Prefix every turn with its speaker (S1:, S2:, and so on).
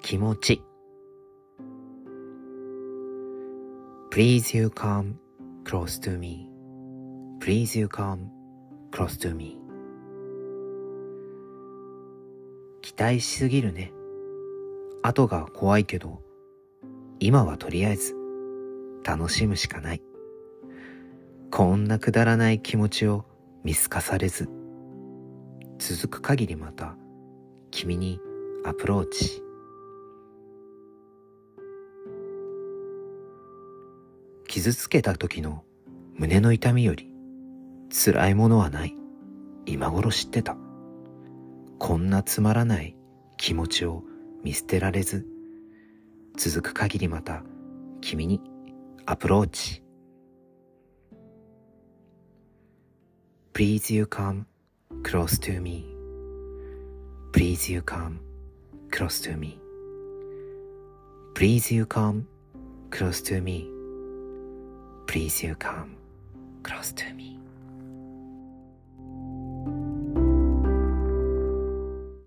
S1: 気持ち。 Please you come close to me. Please you come close to me. 期待しすぎるね。後が怖いけど、今はとりあえず楽しむしかない。こんなくだらない気持ちを見透かされず、続く限りまた君にアプローチ。傷つけた時の胸の痛みより辛いものはない。今頃知ってた。こんなつまらない気持ちを見捨てられず、続く限りまた君にアプローチ。 Please you come close to me. Please you come close to me. Please you come close to me. Please you come close to me.